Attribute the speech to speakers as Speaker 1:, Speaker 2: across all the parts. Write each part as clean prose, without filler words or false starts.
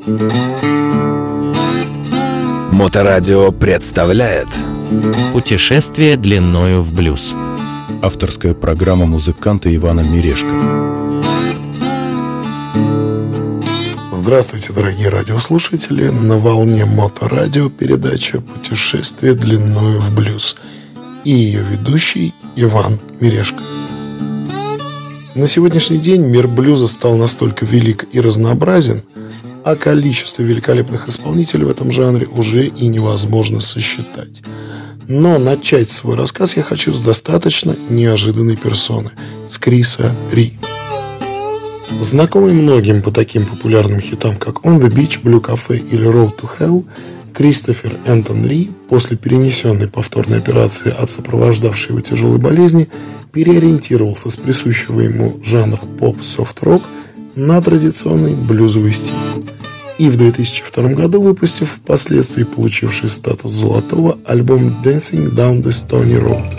Speaker 1: Моторадио представляет
Speaker 2: «Путешествие длиною в блюз».
Speaker 3: Авторская программа музыканта Ивана Мирешко.
Speaker 4: Здравствуйте, дорогие радиослушатели! На волне Моторадио передача «Путешествие длиною в блюз» и ее ведущий Иван Мирешко. На сегодняшний день мир блюза стал настолько велик и разнообразен, а количество великолепных исполнителей в этом жанре уже и невозможно сосчитать. Но начать свой рассказ я хочу с достаточно неожиданной персоны, с Криса Ри. Знакомый многим по таким популярным хитам, как On the Beach, Blue Cafe или Road to Hell, Кристофер Энтон Ри после перенесенной повторной операции от сопровождавшей его тяжелой болезни переориентировался с присущего ему жанра поп-софт-рок на традиционный блюзовый стиль. И в 2002 году выпустив впоследствии получивший статус золотого альбом Dancing Down the Stony Road.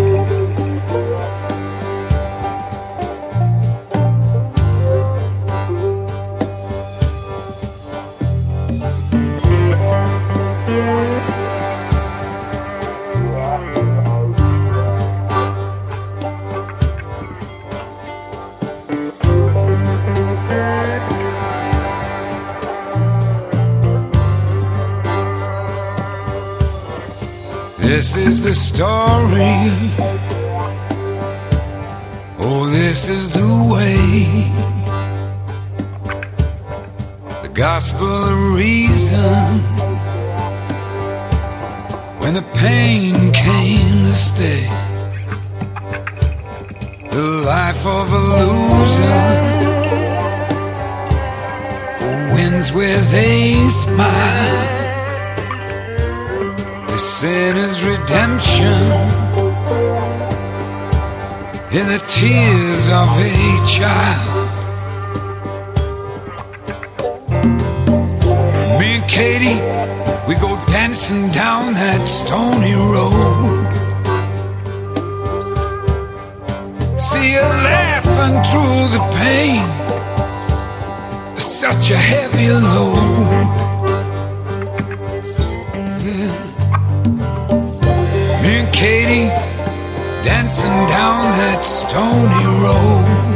Speaker 5: This is the story. Oh, this is the way. The gospel of reason. When the pain came to stay. The life of a loser who wins with a smile. The sinner's redemption in the tears of a child. Me and Katie, we go dancing down that stony road. See her laughing through the pain, such a heavy load. Katie, dancing down that stony road.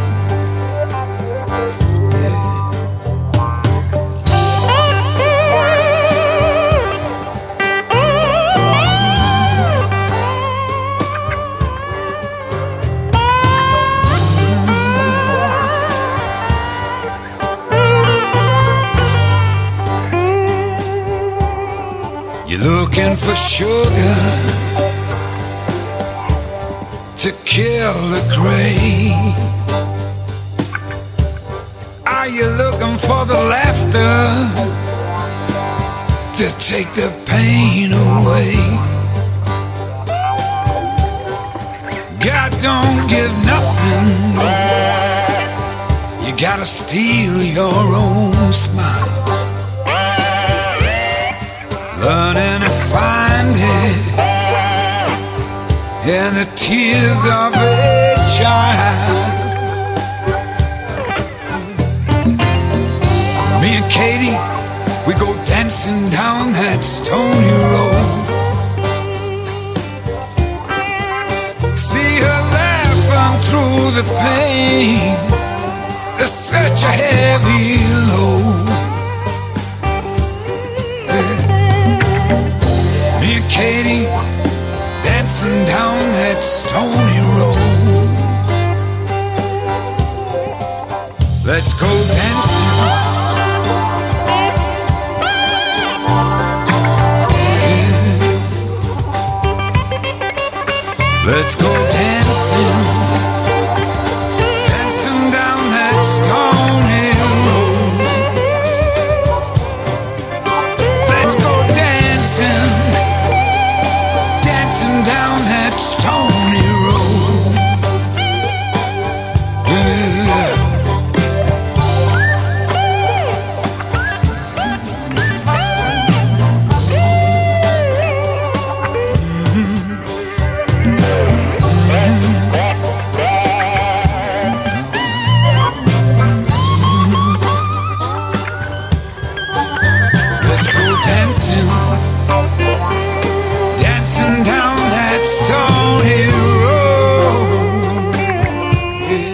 Speaker 5: You're looking for sugar to kill the grave. Are you looking for the laughter to take the pain away? God don't give nothing, no. You gotta steal your own smile. Learning to find it in the tears of a child. Me and Katie, we go dancing down that stony road. See her laughing through the pain, there's such a heavy load. Me and Katie, dancing down that stony road. Let's go dancing. Yeah. Let's go dancing. Dancing down that stony road. Let's go dancing. Down that stony road. Yeah. Let's go dancing, dancing down that stony road. Yeah.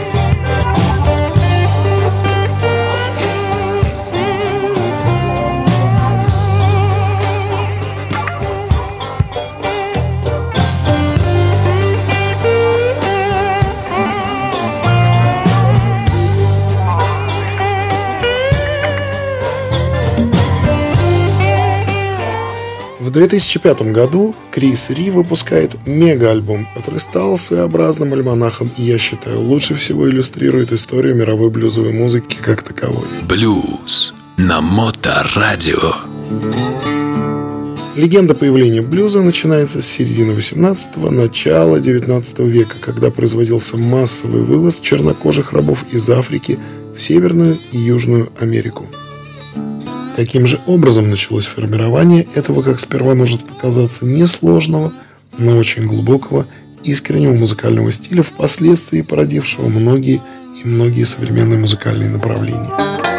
Speaker 4: В 2005 году Крис Ри выпускает мега-альбом, который стал своеобразным альманахом и, я считаю, лучше всего иллюстрирует историю мировой блюзовой музыки как таковой.
Speaker 1: Блюз на Моторадио.
Speaker 4: Легенда появления блюза начинается с середины 18-го, начала 19 века, когда производился массовый вывоз чернокожих рабов из Африки в Северную и Южную Америку. Каким же образом началось формирование этого, как сперва может показаться, несложного, но очень глубокого, искреннего музыкального стиля, впоследствии породившего многие и многие современные музыкальные направления.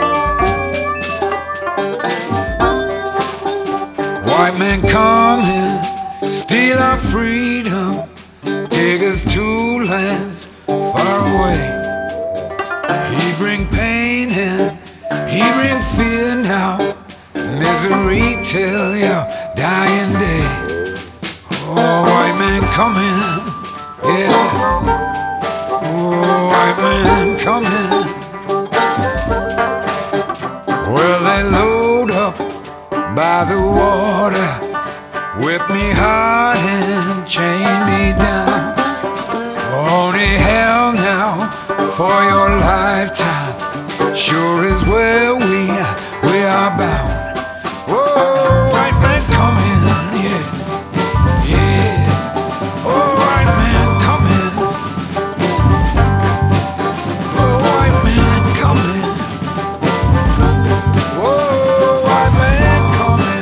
Speaker 5: White man come here, steal our freedom, take us to lands far away. He bring pain and he bring fear now, misery till your dying day. Oh, white man come here, yeah. Oh, white man come here. Well, they load up by the water, whip me hard and chain me down. Only hell now for your lifetime, sure is where we are bound. Oh, white man come in, yeah, yeah. Oh, white man come in. Oh, white man come in. Oh, white man come in.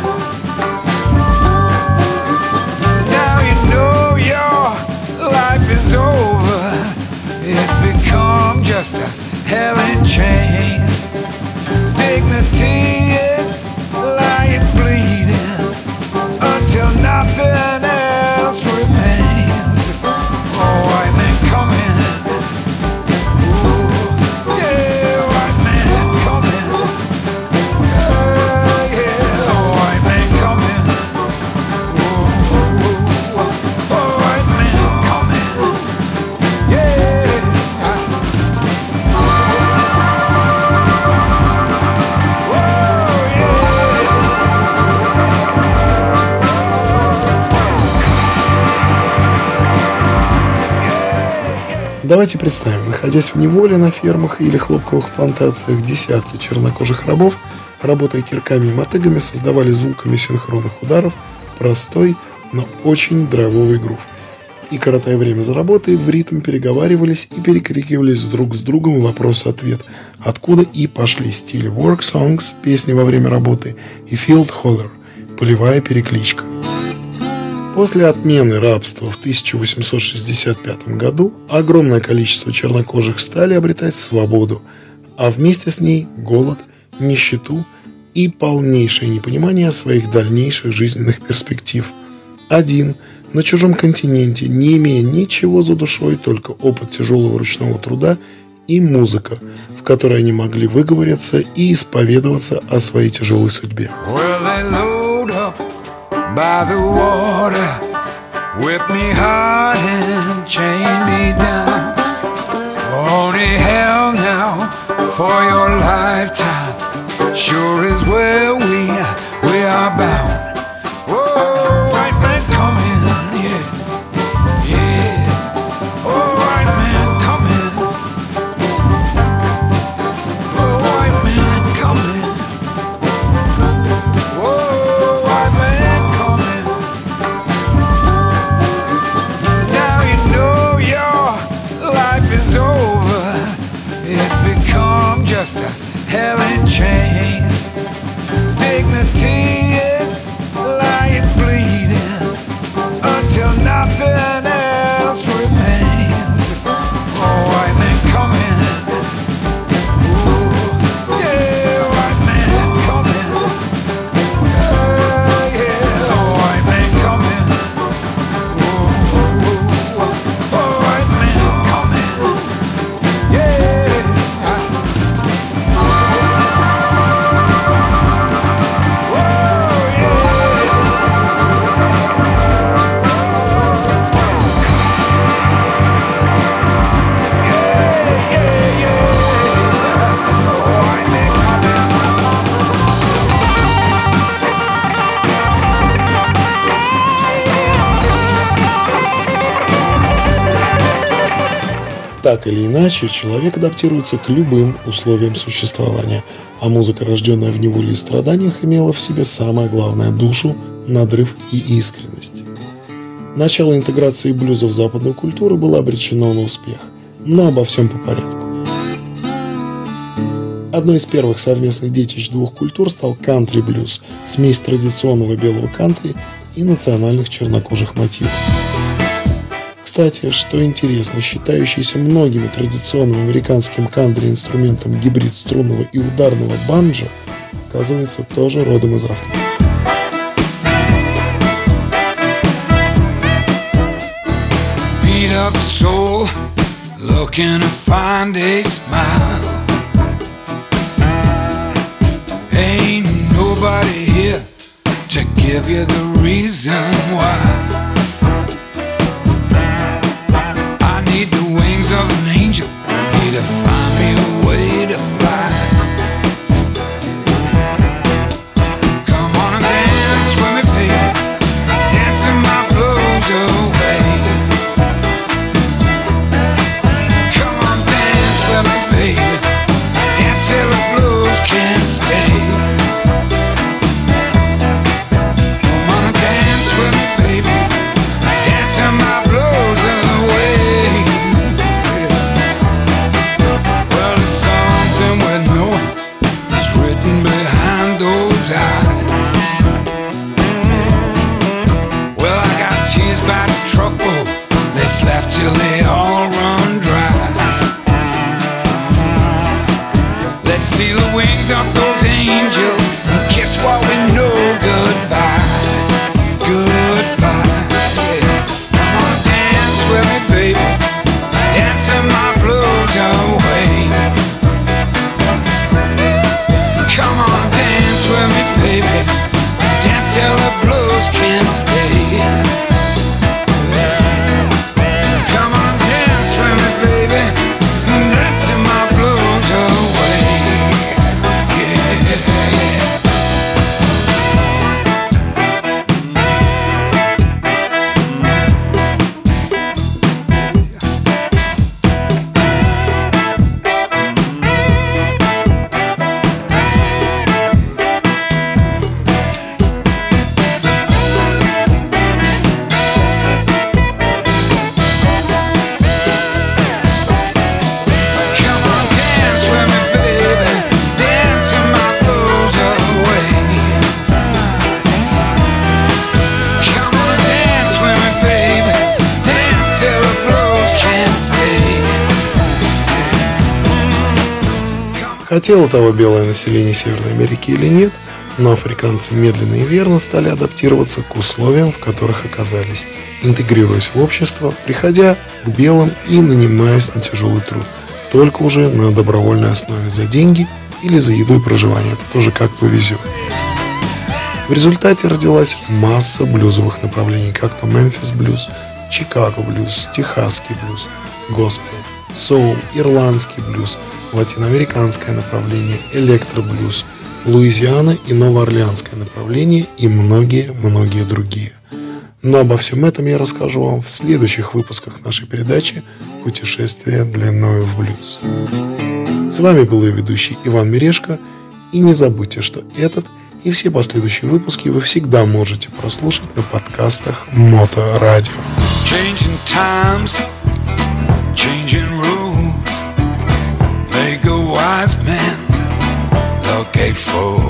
Speaker 5: Now you know your life is over. It's become just a hell in chains. Dignity is lying bleeding until nothing else remains. Oh, white man come in. Ooh, yeah, white man come in. Yeah, oh, white man come in. Ooh, oh, white man come in. Yeah.
Speaker 4: Давайте представим, находясь в неволе на фермах или хлопковых плантациях, десятки чернокожих рабов, работая кирками и мотыгами, создавали звуками синхронных ударов простой, но очень драйвовый грув. И, коротая время за работой, в ритм переговаривались и перекрикивались друг с другом вопрос-ответ, откуда и пошли стили work songs, песни во время работы, и field holler, полевая перекличка. После отмены рабства в 1865 году огромное количество чернокожих стали обретать свободу, а вместе с ней голод, нищету и полнейшее непонимание своих дальнейших жизненных перспектив. Один, на чужом континенте, не имея ничего за душой, только опыт тяжелого ручного труда и музыка, в которой они могли выговориться и исповедоваться о своей тяжелой судьбе.
Speaker 5: By the water, whip me hard and chain me down. Only hell now for your lifetime, sure is where we are bound. Oh, white man come in, yeah, yeah. Oh, white man come in. Oh, white man come in. Oh, white man. Just a hell in chains.
Speaker 4: Так или иначе, человек адаптируется к любым условиям существования, а музыка, рожденная в неволе и страданиях, имела в себе самое главное – душу, надрыв и искренность. Начало интеграции блюза в западную культуру было обречено на успех, но обо всем по порядку. Одной из первых совместных детищ двух культур стал кантри-блюз, смесь традиционного белого кантри и национальных чернокожих мотивов. Кстати, что интересно, считающийся многими традиционным американским кантри-инструментом гибрид струнного и ударного банджо, оказывается, тоже родом из Африки.
Speaker 5: Beat up soul, looking to find a smile. Ain't nobody here to give you the reason why. I need the wings of an angel, need to find me a way to fly. Come on and dance with me, baby, dancing my blues away. Come on, dance with me, baby, dance till the blues can't stay. Come on and dance with me, baby, dancing my blues away. Well, it's something worth knowing, it's written behind those eyes. Well, I got tears by the truckload, let's laugh till they all run dry. Let's steal the wings off those angels and kiss while we know goodbye. Goodbye. Come on, dance with me, baby, dancing my blues away. Come on, dance with me, baby, dance till the blues can't stay. Come on, dance with me, baby, dancing my blues away. Come on, dance with me, baby, dancing my blues away. Come on, dance with me, baby, dance till the blues can't stay.
Speaker 4: Хотело того белое население Северной Америки или нет, но африканцы медленно и верно стали адаптироваться к условиям, в которых оказались, интегрируясь в общество, приходя к белым и нанимаясь на тяжелый труд, только уже на добровольной основе за деньги или за еду и проживание, это тоже как повезет. В результате родилась масса блюзовых направлений, как то Мемфис блюз, Чикаго блюз, Техасский блюз, госпел, соул, ирландский блюз, латиноамериканское направление, электроблюз, Луизиана и новоорлеанское направление и многие-многие другие. Но обо всем этом я расскажу вам в следующих выпусках нашей передачи «Путешествие длиною в блюз». С вами был ее ведущий Иван Мирешко. И не забудьте, что этот и все последующие выпуски вы всегда можете прослушать на подкастах Моторадио.
Speaker 5: Changing times, changing rules, make a wise man look a fool.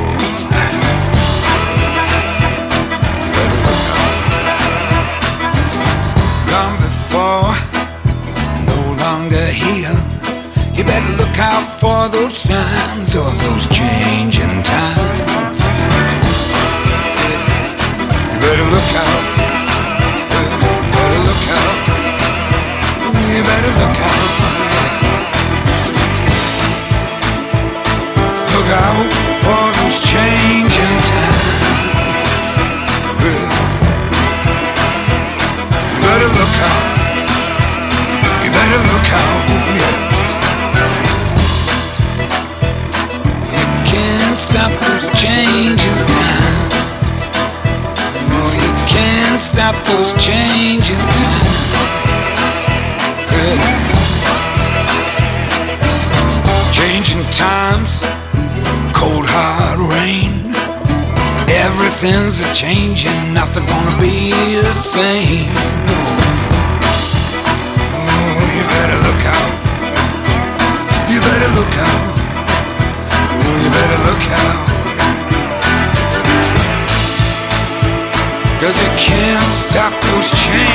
Speaker 5: Gone before, no longer here. You better look out for those signs of those changing times. You better look out. Better look out. You better look out. Look out for those changing times. You better look out. You better look out. Yeah. You can't stop those changing times. Oh, you can't stop those changing times. Good. hard rain. Everything's a changing, nothing gonna be the same. Oh, you better look out. You better look out. Oh, you better look out. 'Cause you can't stop those changes.